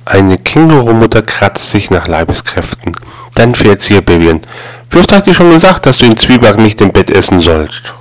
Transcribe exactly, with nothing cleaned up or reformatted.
Eine Kängurumutter kratzt sich nach Leibeskräften. Dann fährt sie ihr Baby an. Wie oft hat dir schon gesagt, dass du den Zwieback nicht im Bett essen sollst?